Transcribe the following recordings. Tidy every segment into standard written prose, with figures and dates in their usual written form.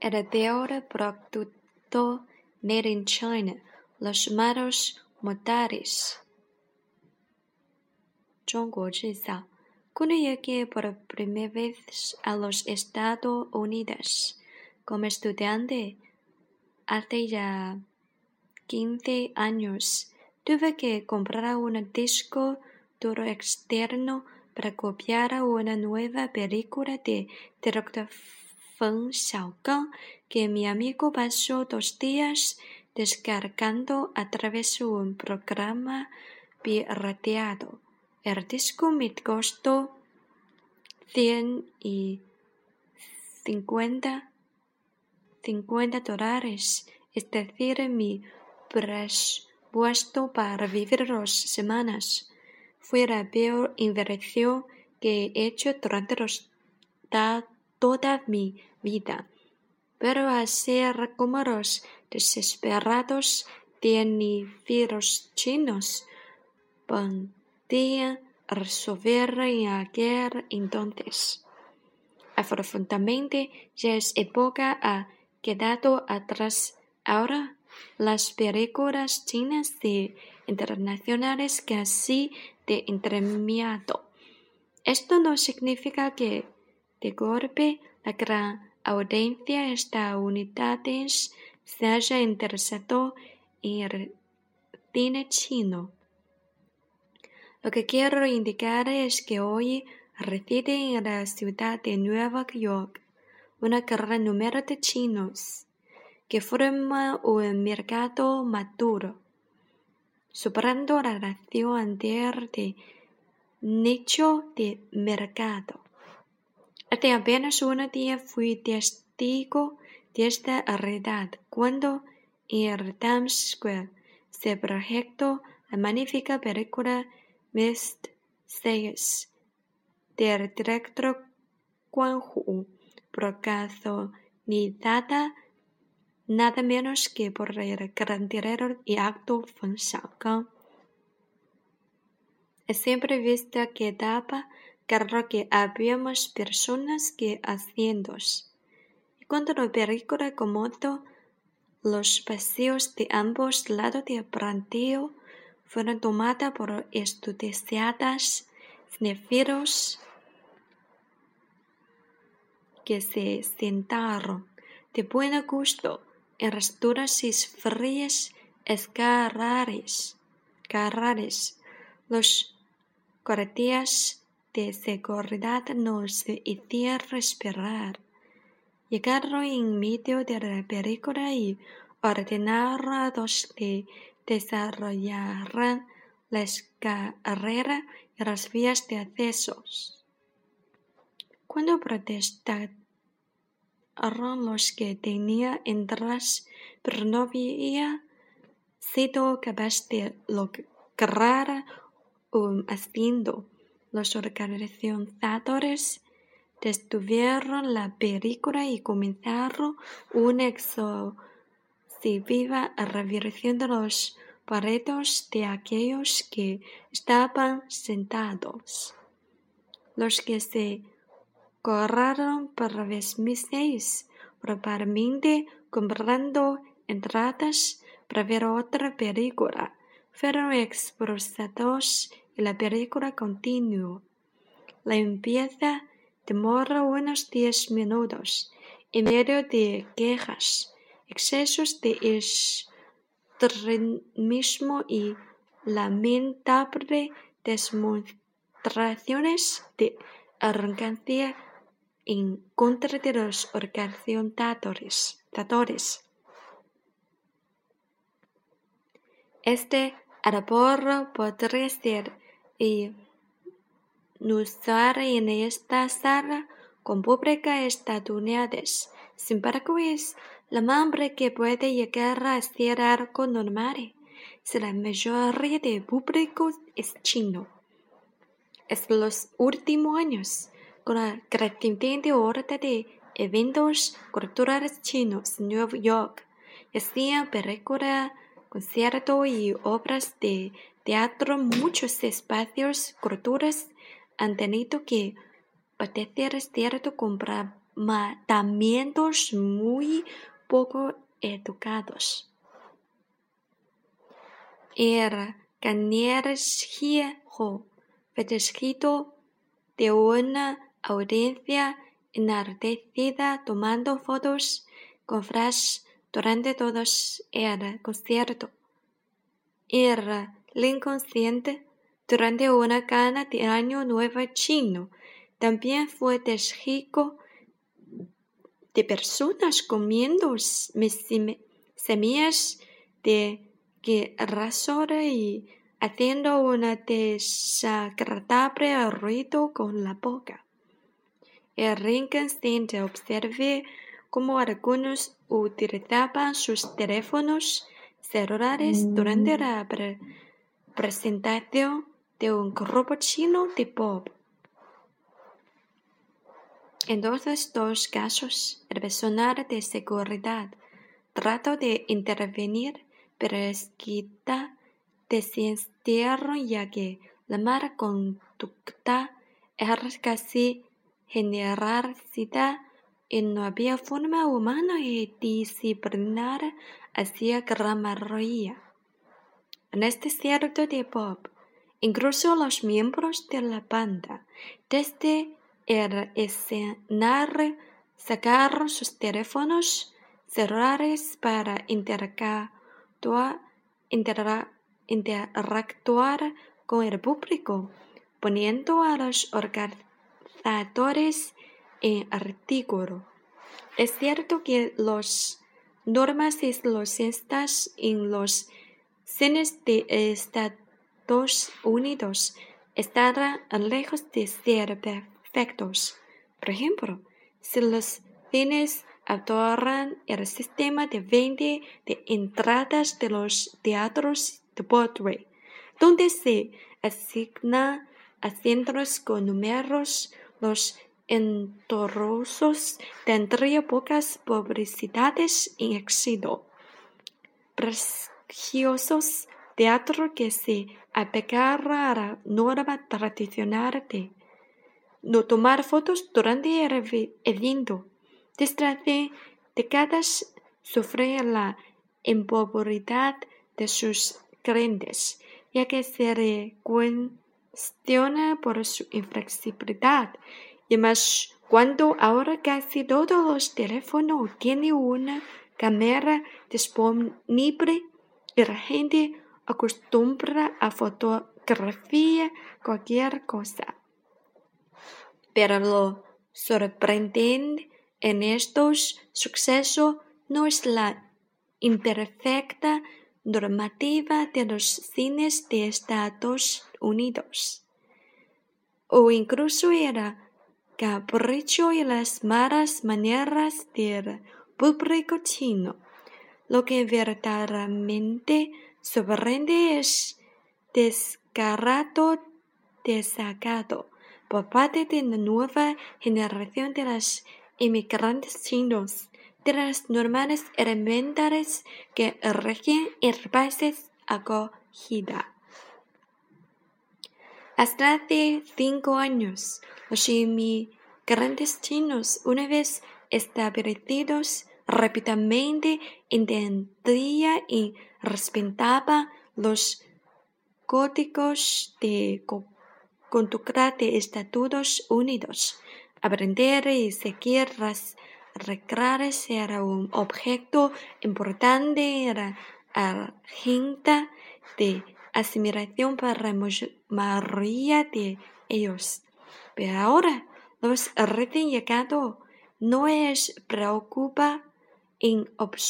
el peor producto made in China, los llamados motores. 中国制造 Cuando llegué por primera vez a los Estados Unidos como estudiante, hace ya 15 años, tuve que comprar un disco duro externo para copiar una nueva película de director Feng Xiaogang que mi amigo pasó 2 días descargando a través de un programa pirateado. El disco me costó $50, es decir, mi presupuesto para vivir 2 semanas. Fue la peor inversión que he hecho durante toda mi vida. Pero hacer como los desesperados científicos chinos podían resolver en aquel entonces. Afortunadamente, ya es época ha quedado atrás. Ahora, las películas chinas de internacionales casi de entremiado. Esto no significa que, de golpe, la gran audiencia estadounidense se haya interesado en el cine chino. Lo que quiero indicar es que hoy reside en la ciudad de Nueva York un gran número de chinos que forman un mercado maduro, superando la relación anterior de nicho de mercado. Hace apenas un día fui testigo de esta realidad cuando en el Times Square se proyectó la magnífica película Mistake del director Guan Hu, protagonizada nada menos que por el gran director y actor Feng Xiaogang. Siempre visto que daba claro que habíamos personas que haciendos. Y cuando la película acomodó, los pasillos de ambos lados del plantel fueron tomadas por entusiastas cinéfilos que se sentaron de buen gusto en las duras y frías escaleras. Los guardias de seguridad nos hicieron respirar. Llegaron en medio de la película y ordenaron a los que desarrollaran la escalera y las vías de accesos. Cuando protestaron los que tenían entradas pero no había sido capaz de lograr un asiento, los organizadores detuvieron la película y comenzaron una exhaustiva revisión de los boletos de aquellos que estaban sentados. Los que se corraron para vez mis probablemente comprando entradas para ver otra película, fueron expulsados y la película continuó. La limpieza demora unos 10 minutos, en medio de quejas, excesos de extremismo y lamentables demostraciones de arrogancia en contra de los organizadores. Este árbol podría ser inusual en esta sala con público estadounidense. Sin embargo, es la hambre que puede llegar a ser algo normal si la mayoría del público es chino. En los últimos años, con la creciente ola de eventos culturales chinos en Nueva York, hacían películas, conciertos y obras de teatro, muchos espacios culturales han tenido que padecer cierto comportamientos muy poco educados. El canillejo festejito de una audiencia enardecida tomando fotos con flash durante todo el concierto. El inconsciente durante una gala de Año Nuevo chino también fue testigo de personas comiendo semillas de girasol y haciendo un desagradable ruido con la boca. El inconsciente observé cómo algunos utilizaban sus teléfonos celulares durante la presentación de un grupo chino de pop. En todos dos casos, el personal de seguridad trató de intervenir, pero enseguida desistieron ya que la mala conducta era casi generalizada y no había forma humana y disciplinar hacia gran mayoría. En este concierto de pop, incluso los miembros de la banda, desde el escenario, sacaron sus teléfonos celulares para interactuar con el público, poniendo a los organizadores en ridículo. Es cierto que las normas y los sistemas en los cines de Estados Unidos estarán lejos de ser perfectos. Por ejemplo, si los cines adoptaran el sistema de venta de entradas de los teatros de Broadway, donde se asignan asientos con números, los entornos tendrían pocas publicidades en éxito. Prestigiosos teatro que se apegara a la norma tradicional de no tomar fotos durante el evento. Desde hace décadas sufre la impopularidad de sus clientes, ya que se le cuestiona por su inflexibilidad. Y más cuando ahora casi todos los teléfonos tienen una cámara disponible y la gente acostumbra a fotografiar cualquier cosa. Pero lo sorprendente en estos sucesos no es la imperfecta normativa de los cines de Estados Unidos, o incluso el capricho y las malas maneras del público chino. Lo que verdaderamente sorprende es descarado desacato por parte de la nueva generación de los inmigrantes chinos de las normas elementales que rigen el país acogida. Hasta hace 5 años, los inmigrantes chinos, una vez establecidos, rápidamente entendían y respetaban los códigos de conducta de Estados Unidos. Aprender y seguir las reglas era un objeto importante en la agenda de asimilación para la mayoría de ellos. Pero ahora, los recién llegados no les preocupa en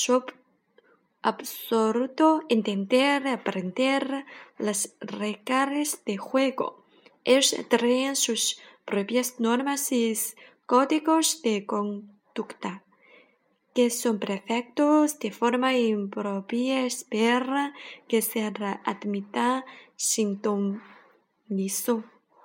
absoluto entender y aprender las reglas de juego. Ellos traen sus propias normas y códigos de conducta, que son perfectos de forma impropia, esperan que se admita sin ton liso.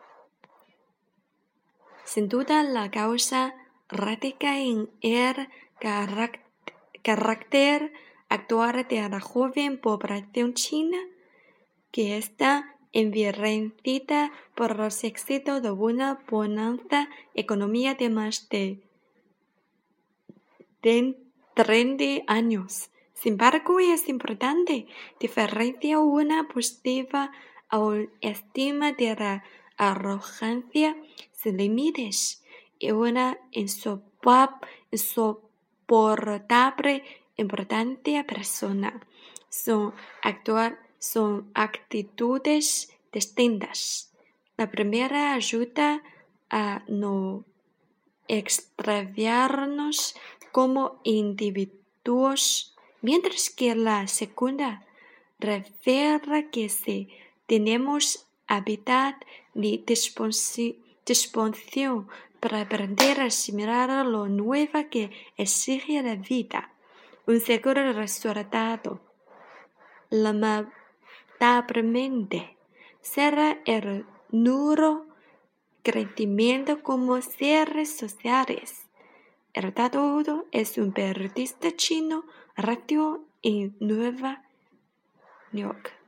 Sin duda, la causa radica en el carácter actual de la joven población china, que está envilecida por los éxitos de una bonanza económica de más de 30 años. Sin embargo, es importante diferenciar una positiva autoestima de la arrogancia sin límites y una insoportable importancia personal. Son actitudes distintas. La primera ayuda a no extraviarnos como individuos, mientras que la segunda revela que si tenemos habilidad ni disposición para aprender a asimilar lo nuevo que exige la vida, un seguro resultado, lamentablemente, será el nulo crecimiento como seres sociales. El todo es un periodista chino radio en Nueva York.